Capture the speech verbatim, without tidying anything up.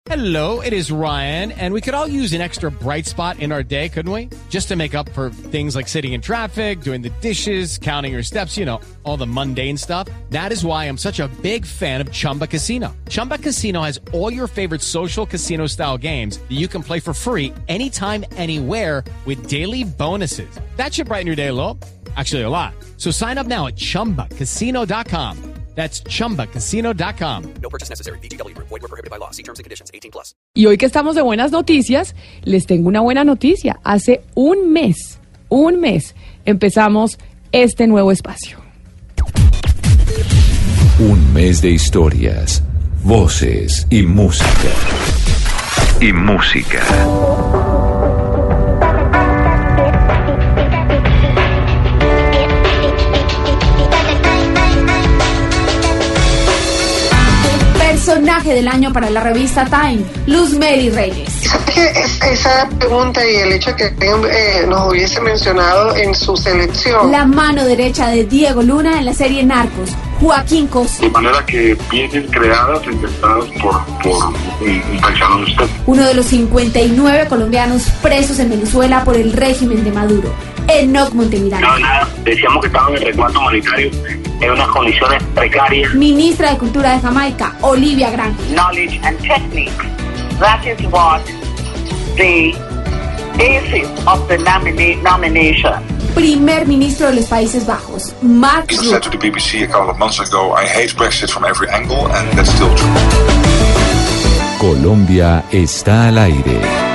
Hello, it is Ryan, and we could all use an extra bright spot in our day, couldn't we? Just to make up for things like sitting in traffic, doing the dishes, counting your steps, you know, all the mundane stuff. That is why I'm such a big fan of Chumba Casino. Chumba Casino has all your favorite social casino-style games that you can play for free anytime, anywhere with daily bonuses. That should brighten your day a little. Actually, a lot. So sign up now at chumba casino dot com. That's chumba casino dot com. No purchase necessary. V G W Group. Void where prohibited by law. See terms and conditions. eighteen plus. Y hoy que estamos de buenas noticias, les tengo una buena noticia. Hace un mes, un mes, empezamos este nuevo espacio. Un mes de historias, voces y música. Y música. Personaje del año para la revista Time, Luzmely Reyes. Esa pregunta y el hecho de que eh, nos hubiese mencionado en su selección. La mano derecha de Diego Luna en la serie Narcos, Joaquín Cosio. De manera que vienen creadas, inventadas por, por un, un paisano de usted. Uno de los cincuenta y nueve colombianos presos en Venezuela por el régimen de Maduro, Enoc Montemirano. No, nada, decíamos que estaban en resguardo humanitario en unas condiciones precarias. Ministra de Cultura de Jamaica, Olivia Grant. Knowledge and technique. That is what the basis of the nomina- nomination. Primer ministro de los Países Bajos, Mark I said to the B B C a couple of months ago, I hate Brexit from every angle, and that's still true. Colombia está al aire.